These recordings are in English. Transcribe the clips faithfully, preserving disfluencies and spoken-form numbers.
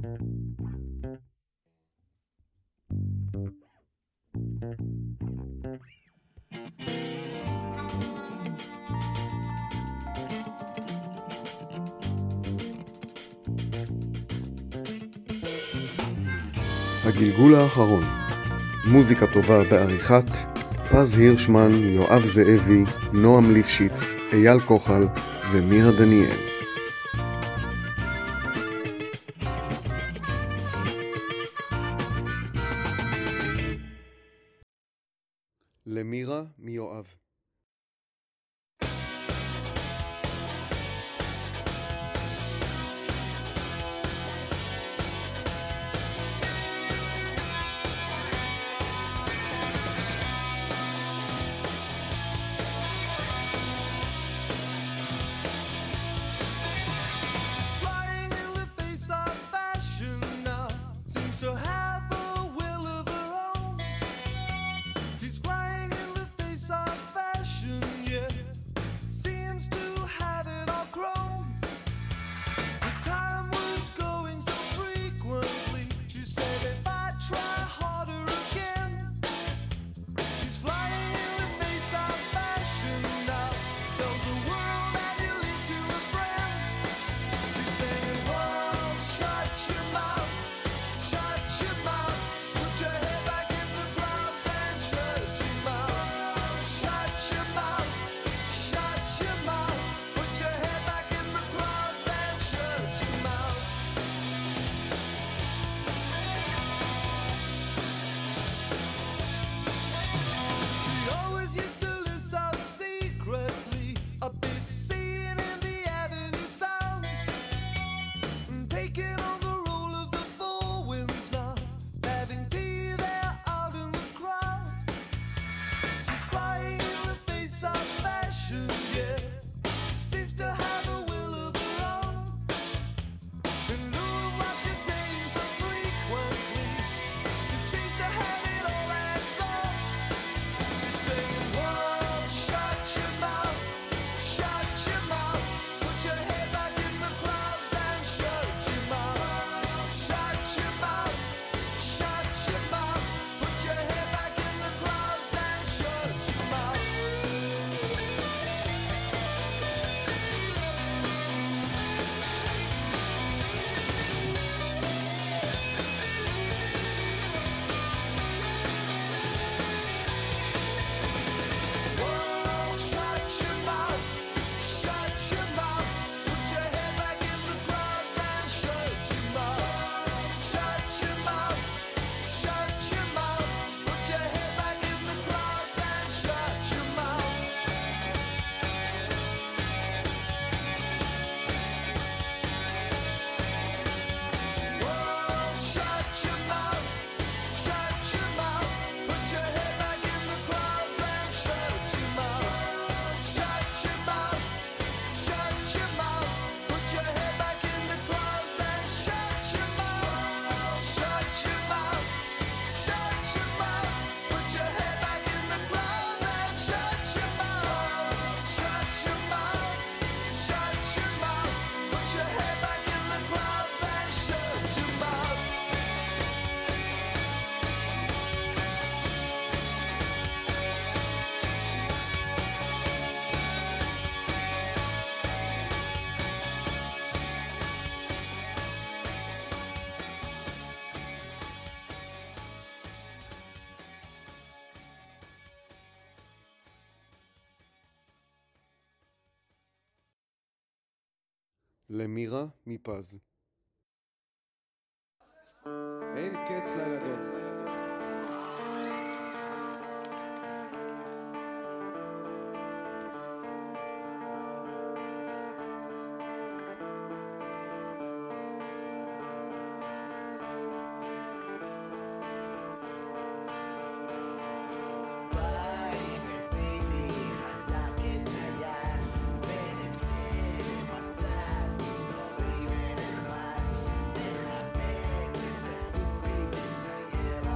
הגלגול האחרון, מוזיקה טובה בעריכת פז הירשמן, יואב זאבי, נועם ליפשיץ, אייל כוחל ומירה דניאל. למירה מיואב. למירה מפז. אין קץ לילדות. Yeah.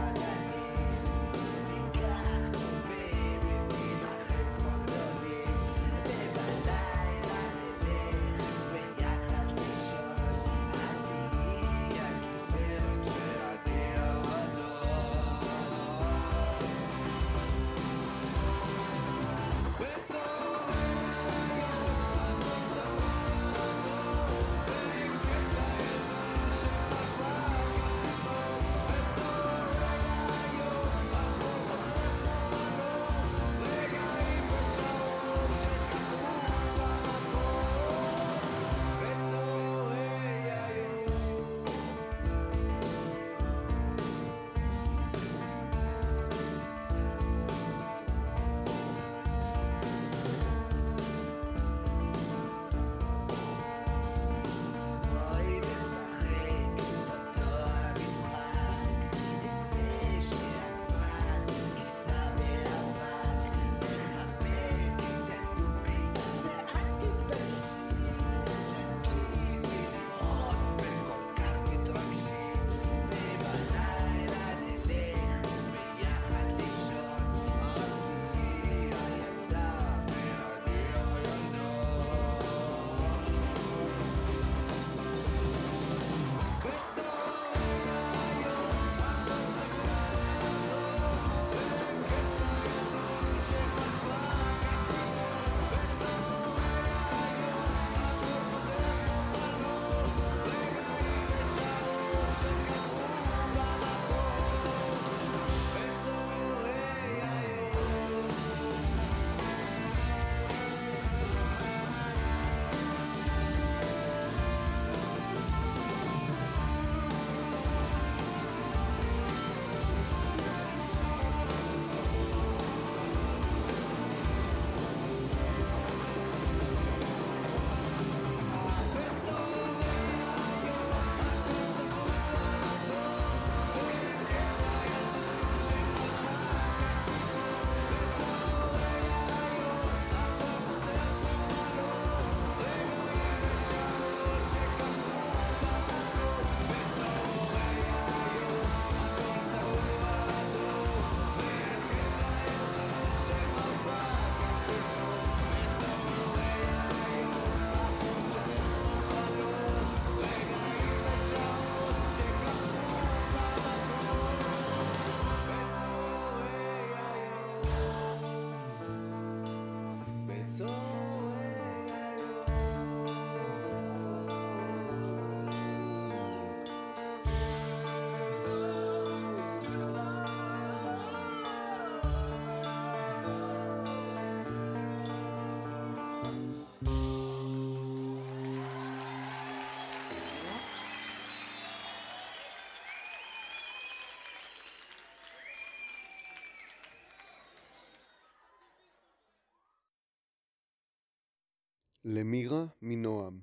למירה מנועם.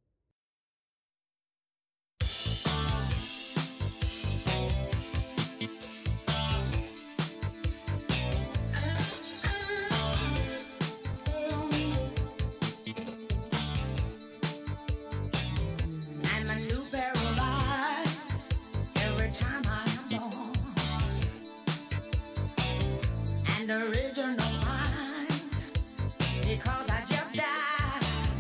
Original mind, because I just died.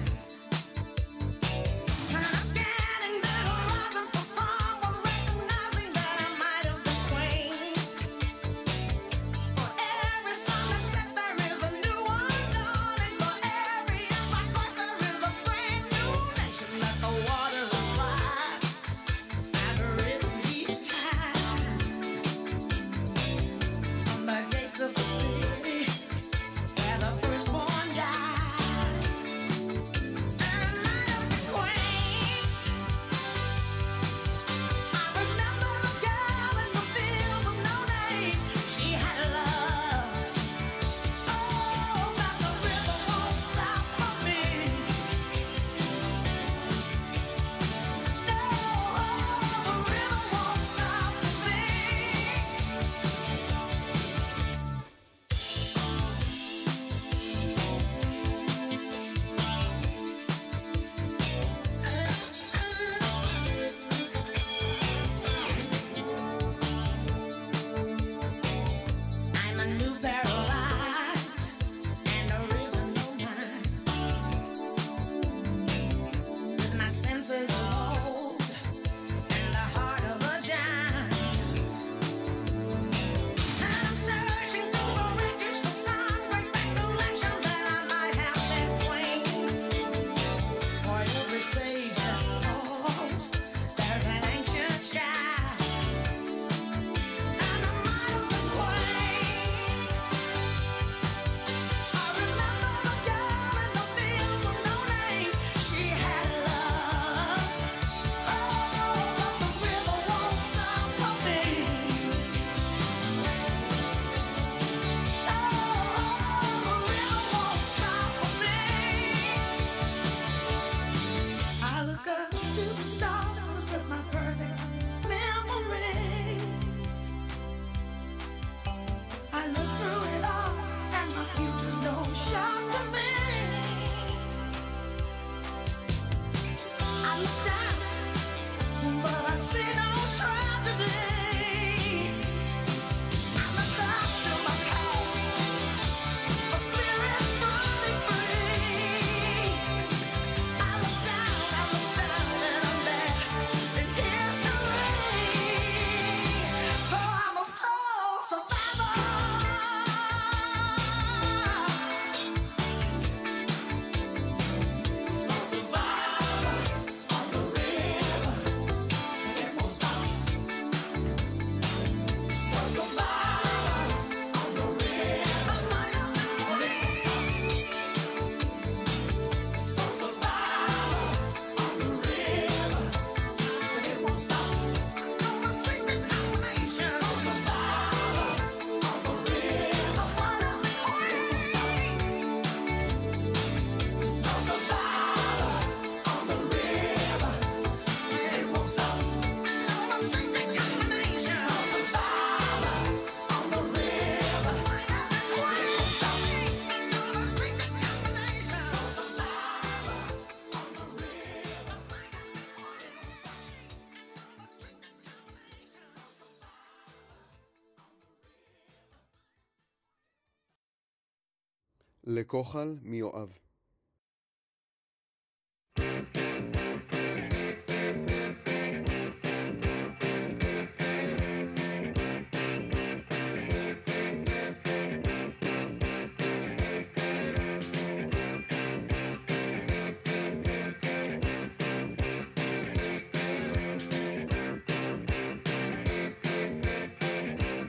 לכוחל מיואב.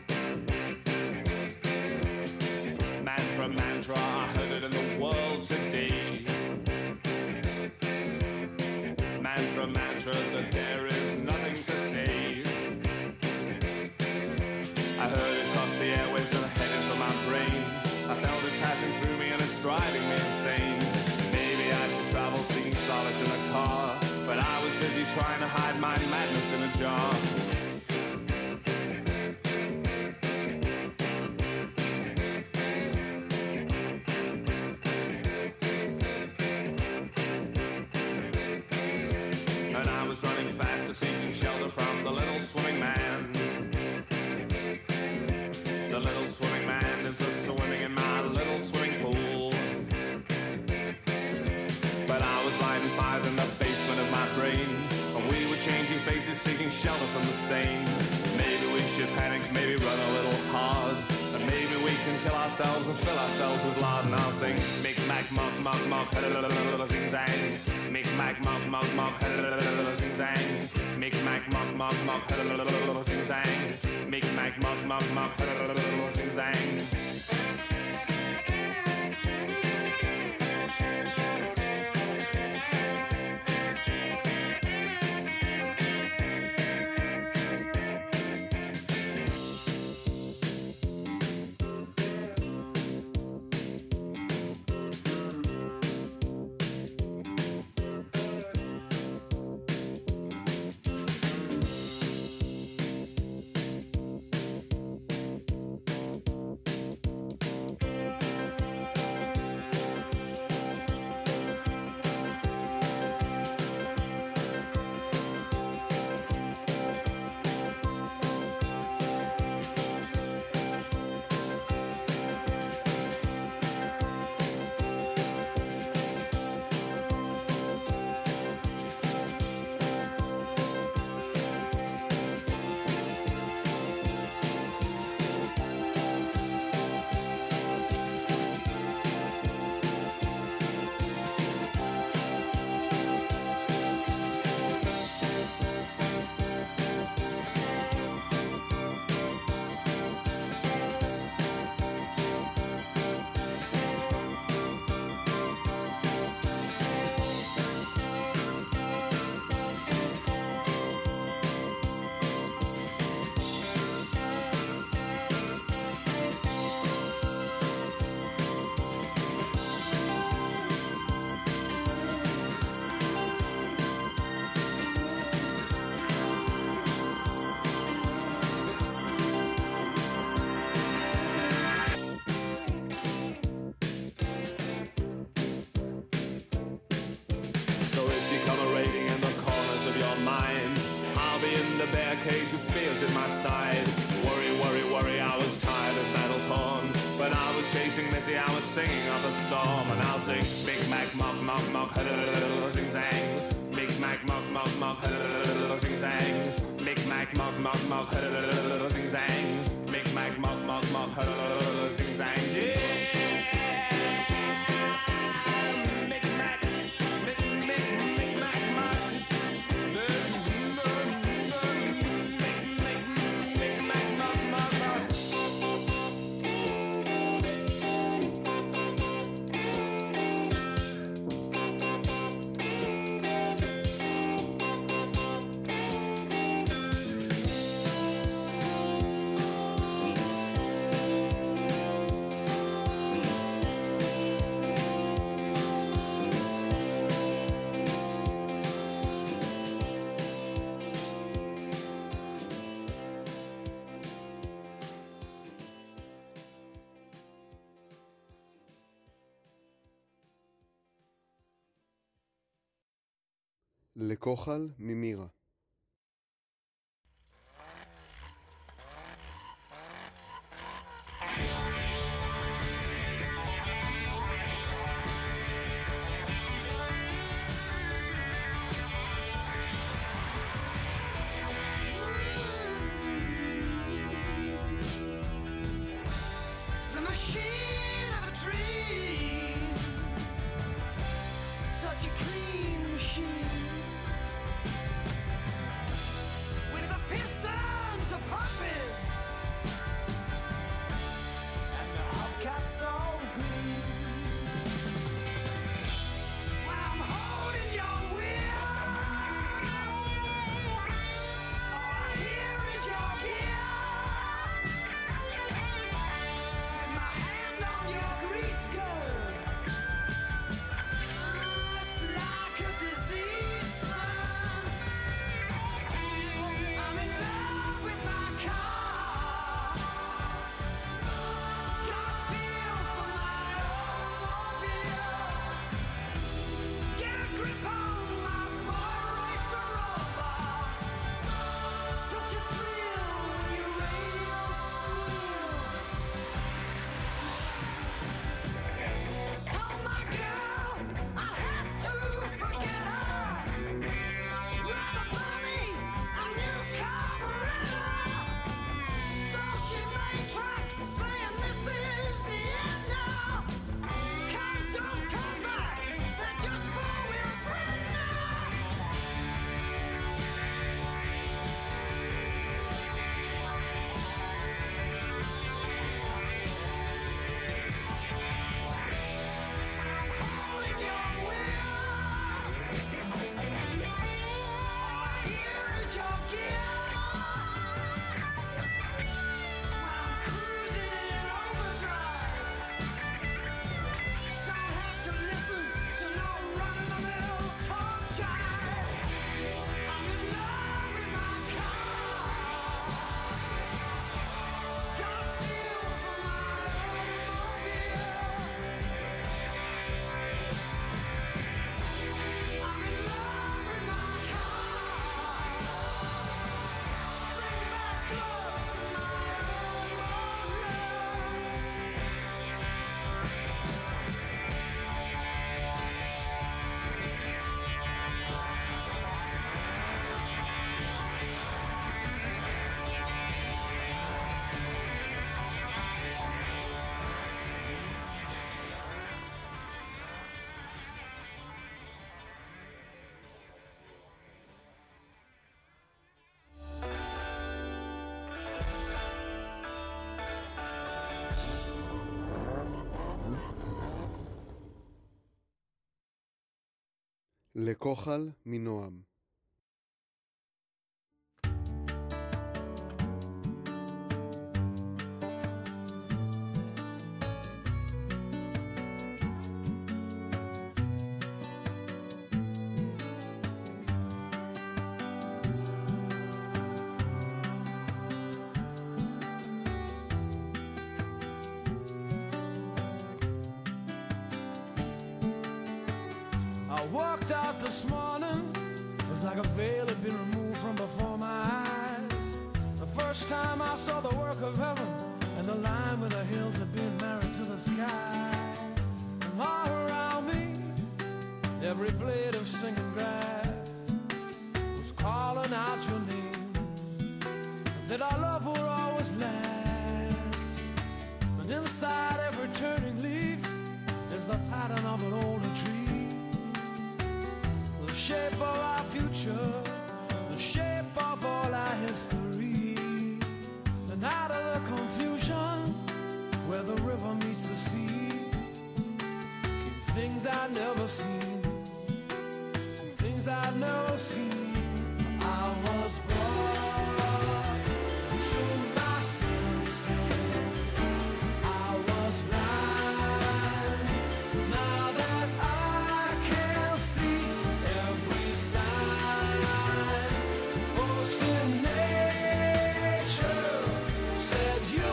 Mantra, I heard it in the world today. busy trying to hide my madness in a jar. And I was running faster, seeking shelter from the little swimming man. The little swimming man is just swimming in my little swimming pool. But I was lighting fires in the basement of my brain, and we were changing faces, seeking shelter from the same. Maybe we should panic, maybe run a little hard, and maybe we can kill ourselves and fill ourselves with lard. And I'll sing Mick Mac Mock Mock Mock Zing Zang. Mick Mac Mock Mock Mock Zing Zang. Mick Mac Mock Mock Mock Zing Zang. Mick Mac Mock Mock Mock Zing Zang. cage with spears in my side. Worry, worry, worry, I was tired and battle torn. When I was chasing Missy, I was singing of the storm. And I'll sing Big Mac, mock, mock, mock, zing zang. Big Mac, mock, mock, mock, zing zang. Big Mac, mock, mock, mock, zing zang. Big Mac, mock, mock, mock, zing zang. Yeah! לכוחל ממירה. The machine of a dream, such a clean machine. לכוחל מנועם. Walked out this morning, it was like a veil had been removed from before my eyes. The first time I saw the work of heaven, and the line where the hills had been married to the sky. And all around me, every blade of singing grass was calling out your name, that our love would always last. And inside every turning leaf is the pattern of an older tree, the shape of our future, the shape of all our history. And out of the confusion where the river meets the sea came things I'd never seen, things I'd never seen. I was brought to my senses, I was blind, now that I can see every sign posted nature said you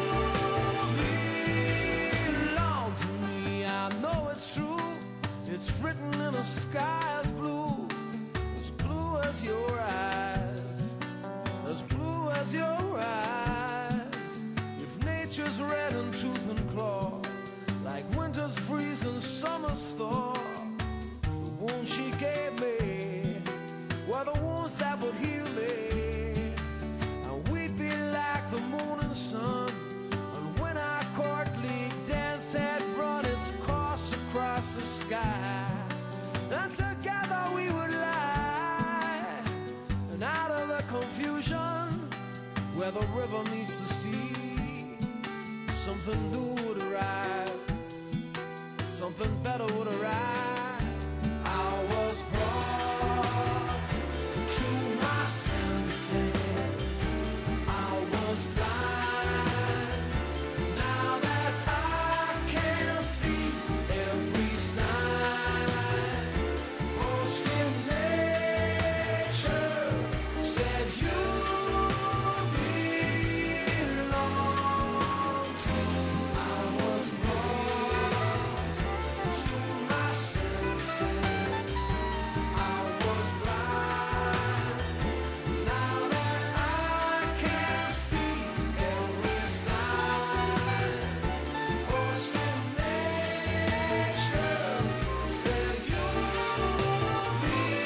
belong to me. I know it's true, it's written in a sky as blue, as blue as your eyes, as blue as your eyes. If nature's red in tooth and claw, like winter's freeze and summer's thaw, the wounds she gave me were the wounds that would heal me, and we'd be like the moon and sun. And when our courtly dance had run its course across the sky, and together we would lie, and out of the confusion where the river meets the sea, something new would arrive, something better would arrive. I was brought to my senses, I was blind, now that I can see every sign posted nature said you belong to. I was brought to my senses, I was blind, now that I can see every sign posted nature said you belong to me.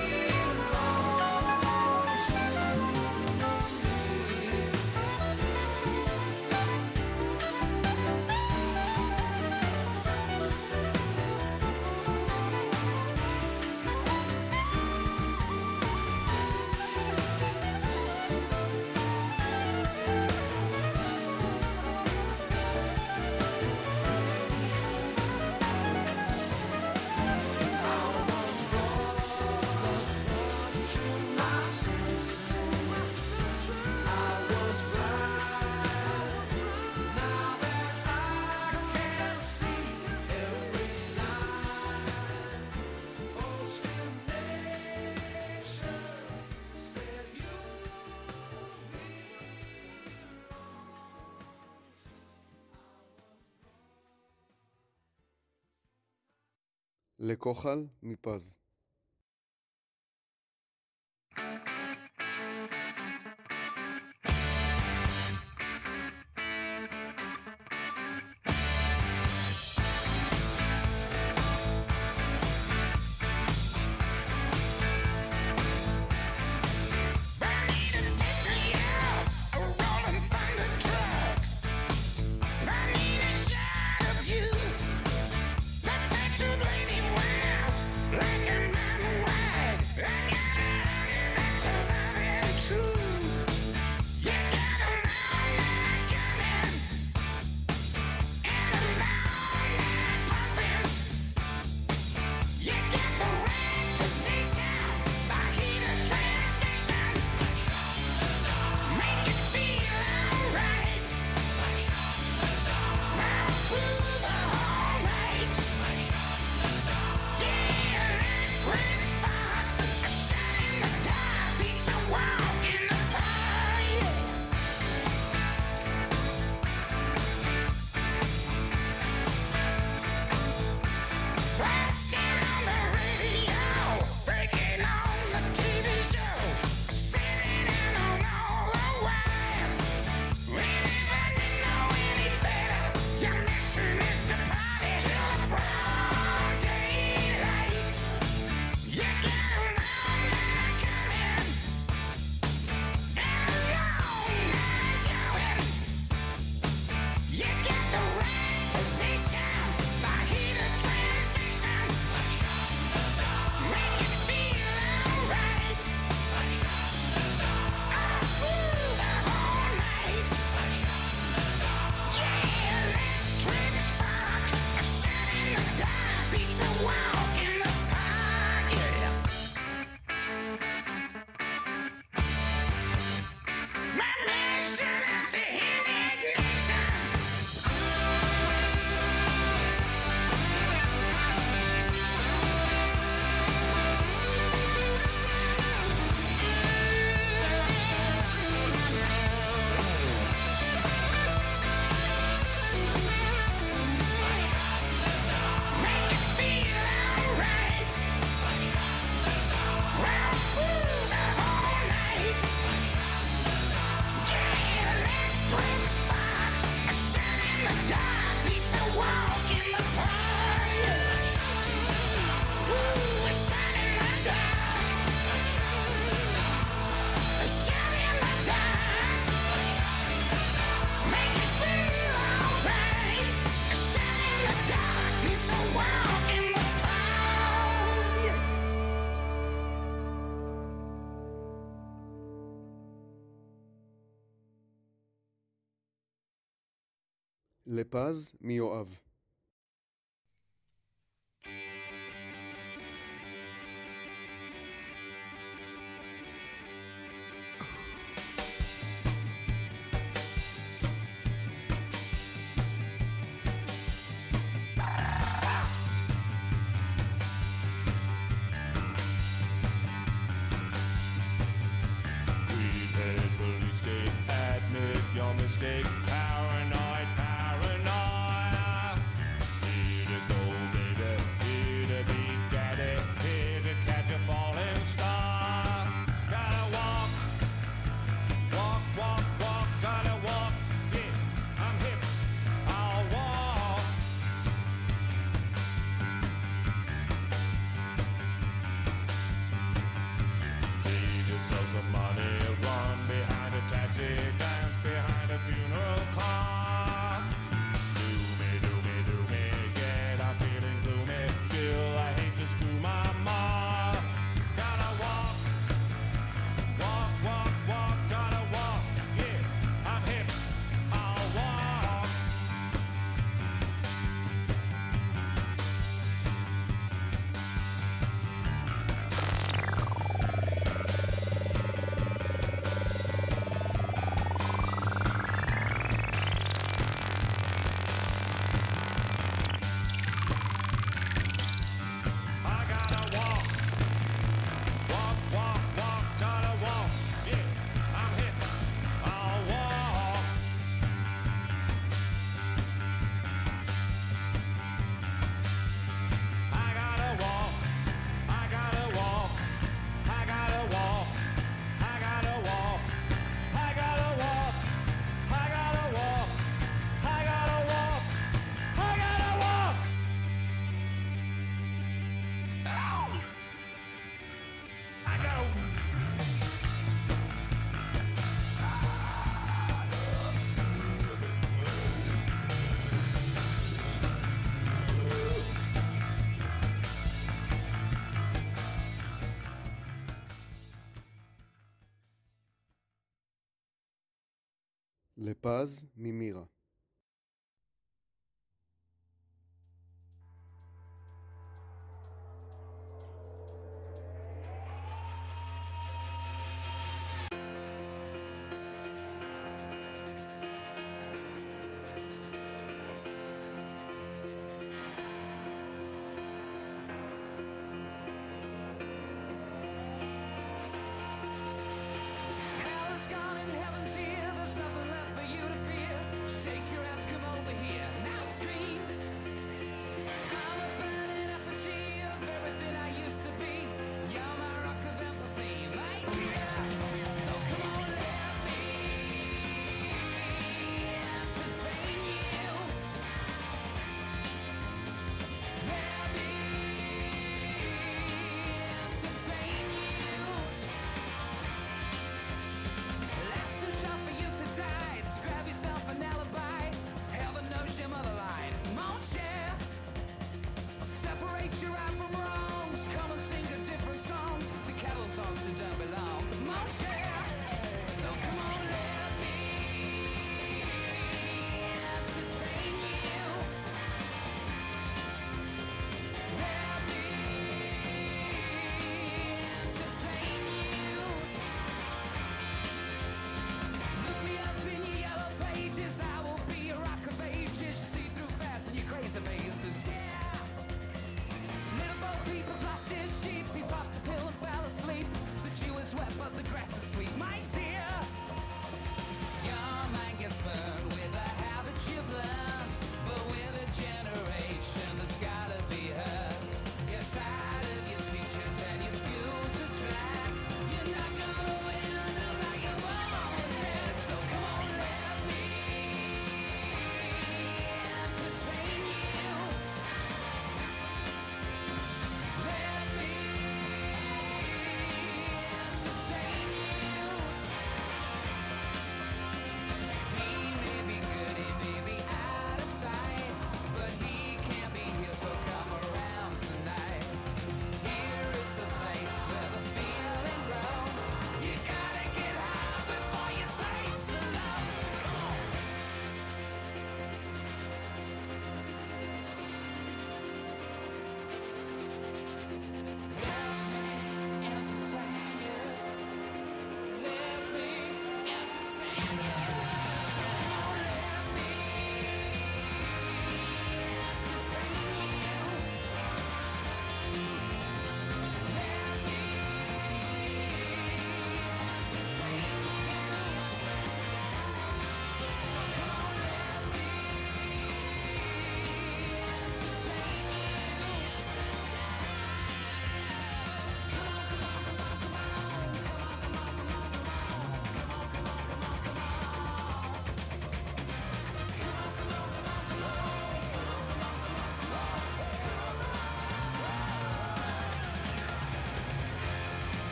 לכוחל מפז. Like an לפז מיואב. Your mistake, paranoid, paranoia. Here to go, baby, here to be daddy, here to catch a falling star. Gotta walk, walk, walk, walk, gotta walk, yeah, I'm hip, I'll walk. Save yourself some money, run behind a taxi, dance behind a funeral car. Do me, do me, do me, yeah, I'm feeling gloomy. Still, I hate to screw my ma. Gotta walk, walk, walk, walk, gotta walk, yeah, I'm hip, I'll walk. I gotta walk, walk, walk, walk, gotta walk, yeah, I'm hip, I'll walk. I gotta walk, I gotta walk, I gotta walk, I gotta walk, I gotta walk, I gotta walk, I gotta walk, I gotta walk. Ow! I go. לפז ממירה. Hell is gone and heaven's here. There's nothing left for you to fear. Shake your ass, come over here. Now scream. I'm a burning effigy of everything I used to be. You're my rock of empathy, my dear. So come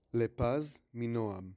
לפז מנועם.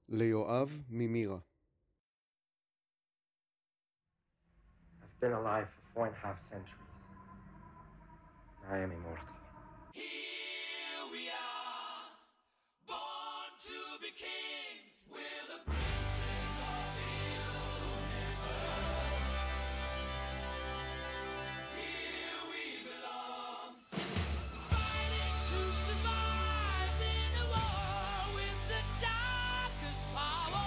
ליואב ממירה. I've been alive for four and a half centuries. I am immortal. Here we are, born to be kings. We're the princes of the universe. Here we belong, fighting to survive in a war with the darkest power.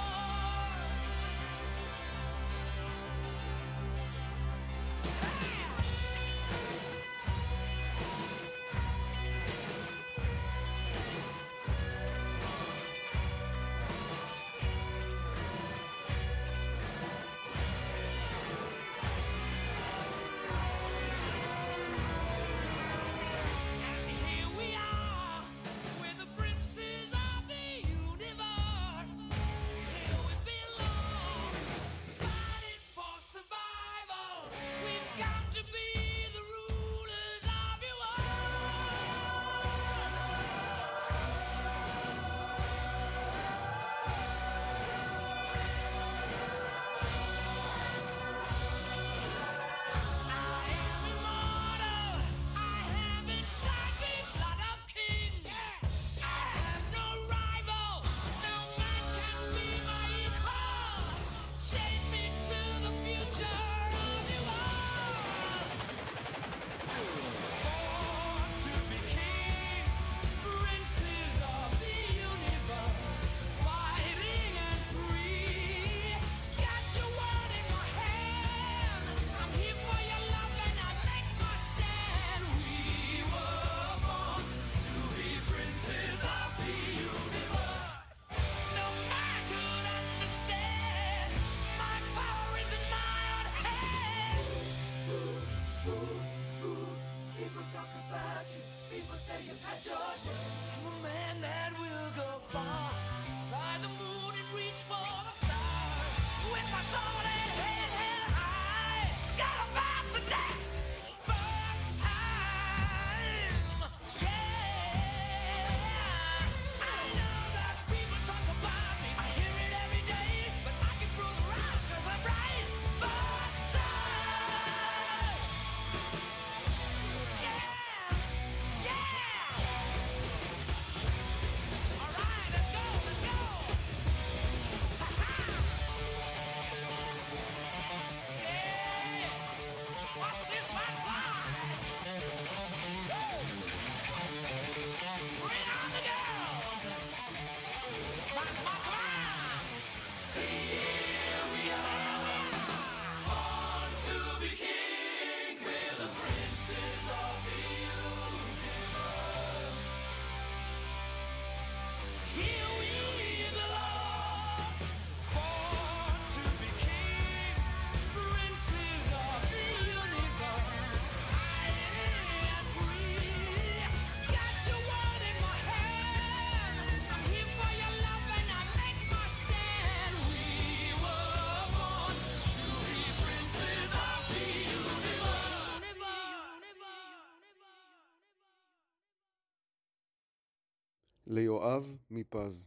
ליואב מפז.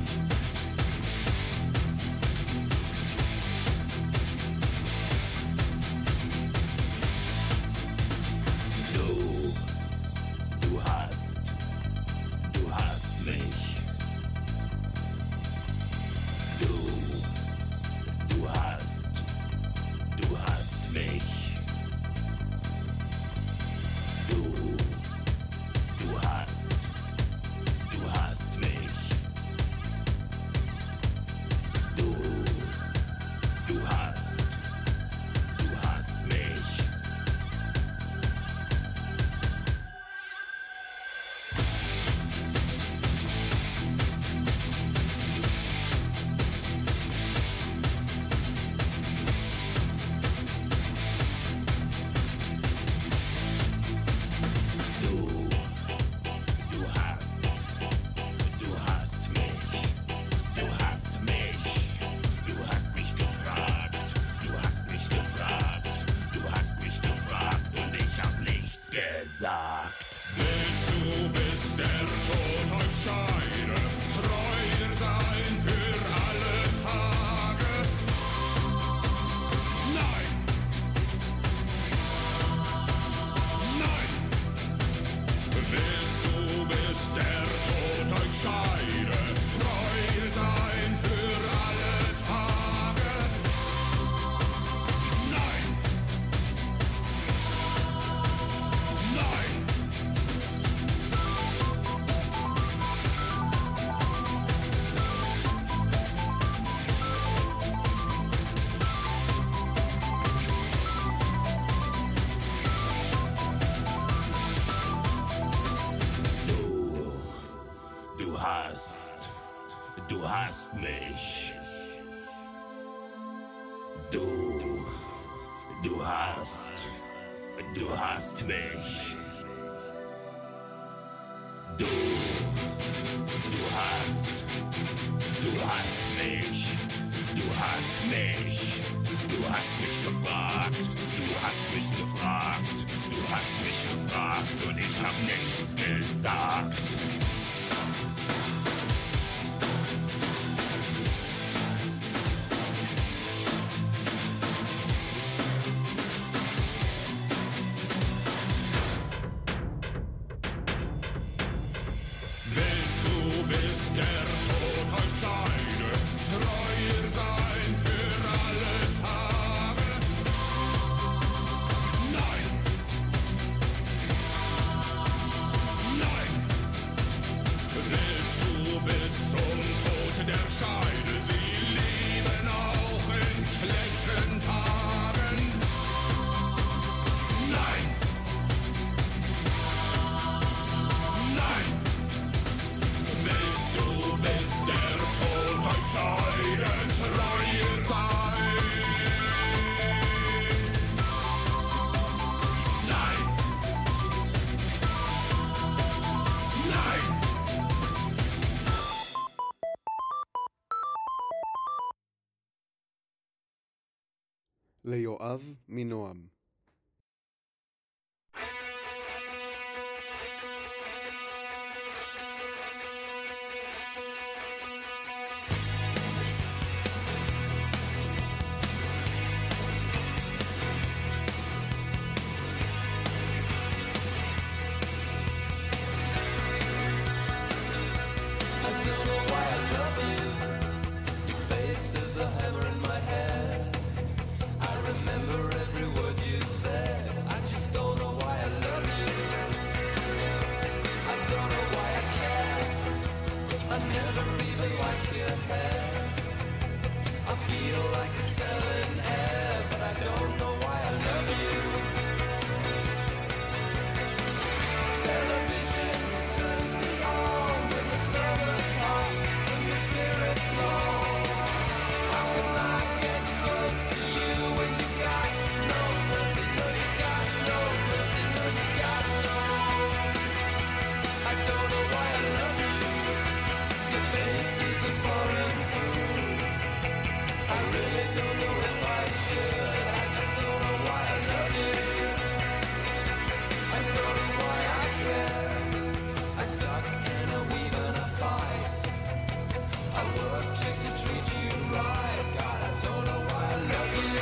Here hast, du hast mich. Du, du hast, du hast mich. Du, du hast, du hast mich. Du hast mich, du hast mich gefragt, du hast mich gefragt, du hast mich gefragt und ich hab nichts gesagt. Willst du, bis der Tod euch scheide, treuer sein für alle Tage? Nein! Nein! Willst du bis zum Tod der Scheide sie lieben auch in schlechten Tagen? Nein! Nein! Willst du bis der Tod euch scheiden, treuer sein? Nein! Nein! ליואב מנועם. I don't know why I love you. Your face is a hammer in my head. I remember every word you said. I just don't know why I love you. I don't know why I care. I never even liked your hair. I feel like a selling air, but I don't know why I love you. Television turns me on when the summer's hot and the spirit's low. How can I get close to you when you got no mercy? No, you got no mercy. No, you got no. I don't know why I love you. Your face is a foreign food. I really don't know if I should. I just don't know why I love you. I don't know why I care. I duck and I weave and I fight. I work just to treat you right. God, I don't know why I love you.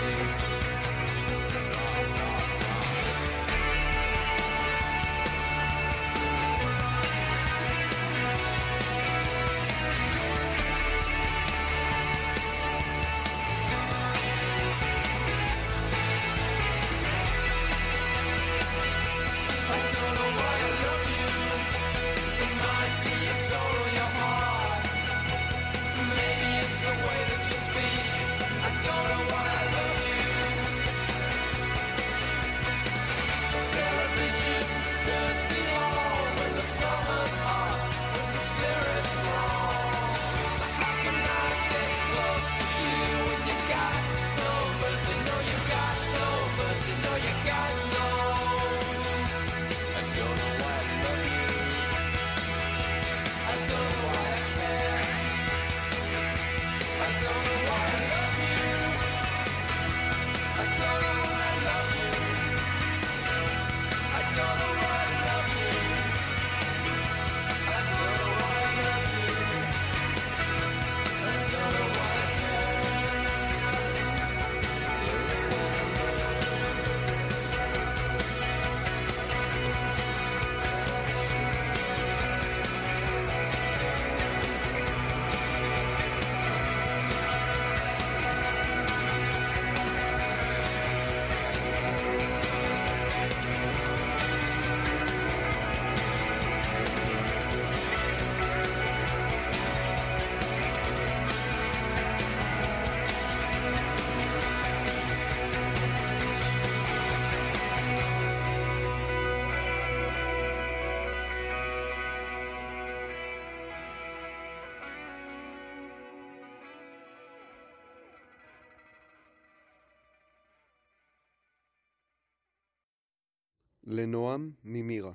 לנועם ממירה.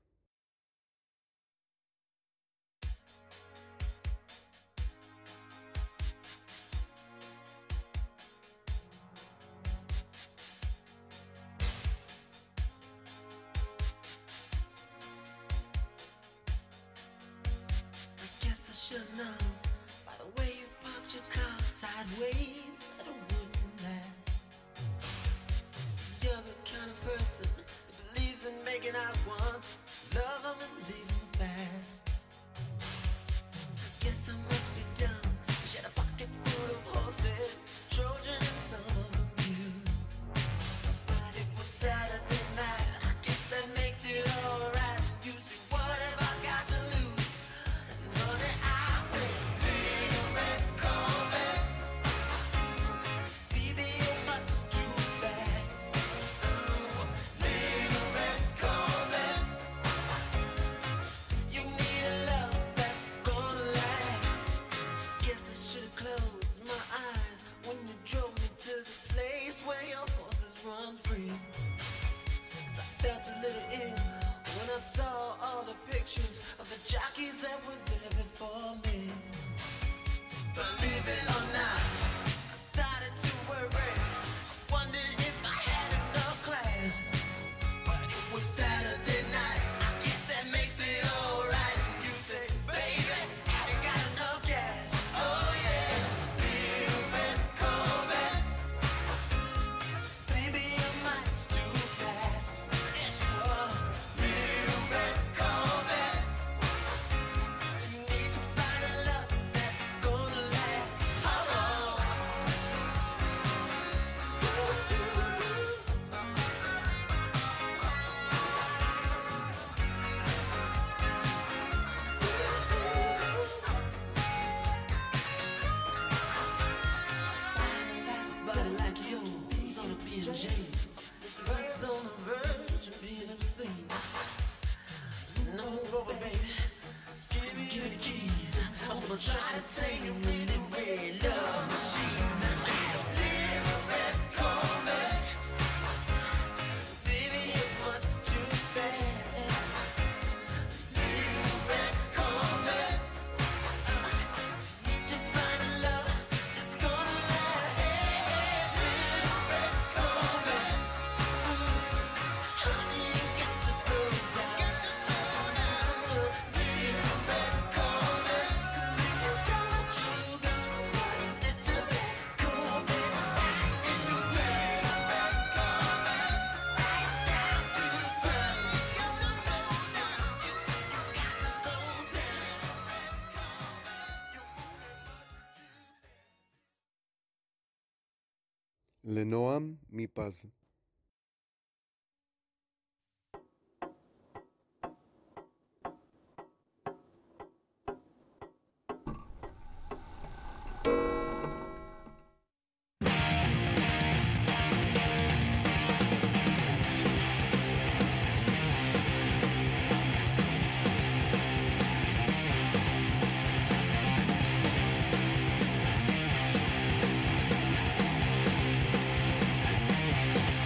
Should know by the way you parked your car sideways that it wouldn't last. See, you're the kind of person that believes in making out once, love them and leave them fast. I guess I must be dumb. She had a pocket full of horses, Trojan and some of them used. But it was Saturday night. I guess that makes it alright. You see, what have I got to lose? And honey, I I saw all the pictures of the jockeys that were there before me. Believe it or not, I started to worry. I wondered if I had enough class. But it was Saturday night, I guess that makes it alright. You say, baby, have you got enough gas? Oh yeah, little red Corvette. Baby, your mind's too fast. Yes, you are. That's on the verge of being obscene. Now move over, baby. Give me, give me the keys. I'm gonna try to tame your little red love machine. Little red Corvette. Baby, you're much too fast. Little red Corvette. Need to find a love that's gonna last. Little red Corvette. Honey, you got to slow down. Got to slow down. Little red Corvette. 'Cause if you don't, you go. Little red Corvette. And you little red Corvette. Right down to the ground. You got to slow down. You, you got to slow down. Red Corvette. You're moving much too fast. לנועם מפז. Little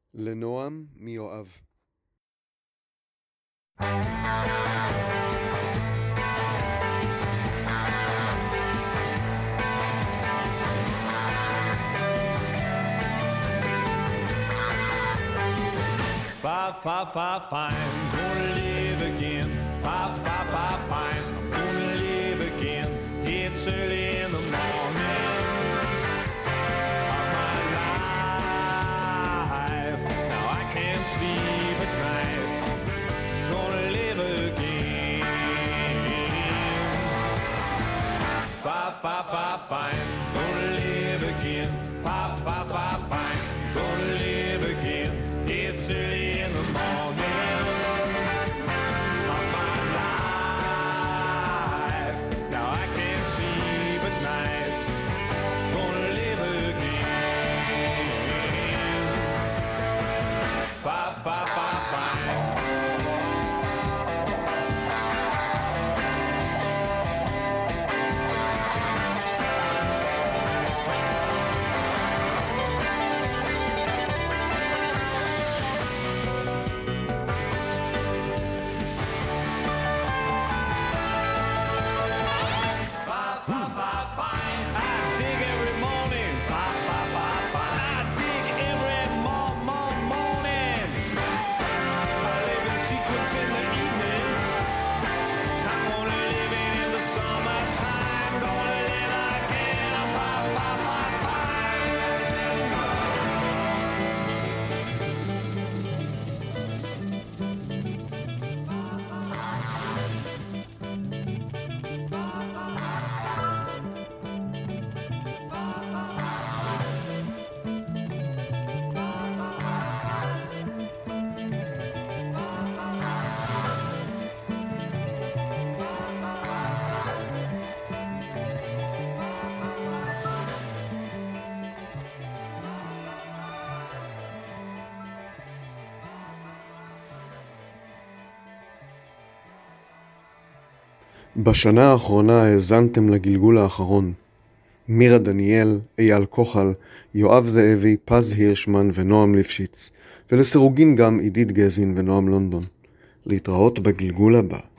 לנועם מיואב. Five, five, five, fine, gonna live again. Five, five, five, fine, I'm gonna live again. It's early in the morning of my life. Now I can't sleep at night. Gonna live again. Five, five, five, fine, gonna live again. Five, five, five, fine, gonna live again. It's early in the morning of my life. Now I can't sleep at night. Gonna live again. Five, five, five, fine. בשנה האחרונה האזנתם לגלגול האחרון. מירה דניאל, אייל כוחל, יואב זאבי, פז הירשמן ונועם ליפשיץ, ולסירוגין גם עידית גזין ונועם לונדון. להתראות בגלגול הבא.